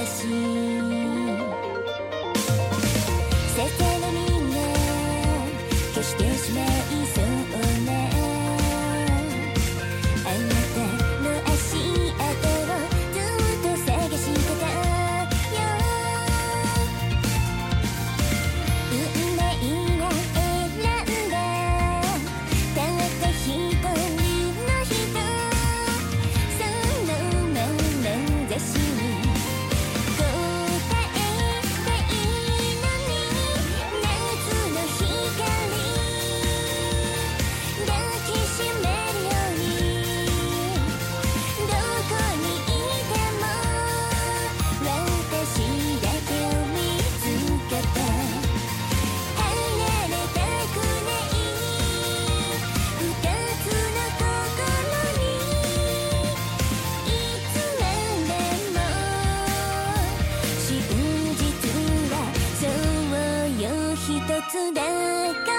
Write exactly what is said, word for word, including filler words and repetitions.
しせせのみが消してしまいそうなあなたの足跡をずっと探してたよ。運命が選んだたった一人の人、そのまなざしに答えたいのに、夏の光抱きしめるように、どこにいても私だけを見つけて離れたくない二つの心に、いつまでも真実はそうよ一つだから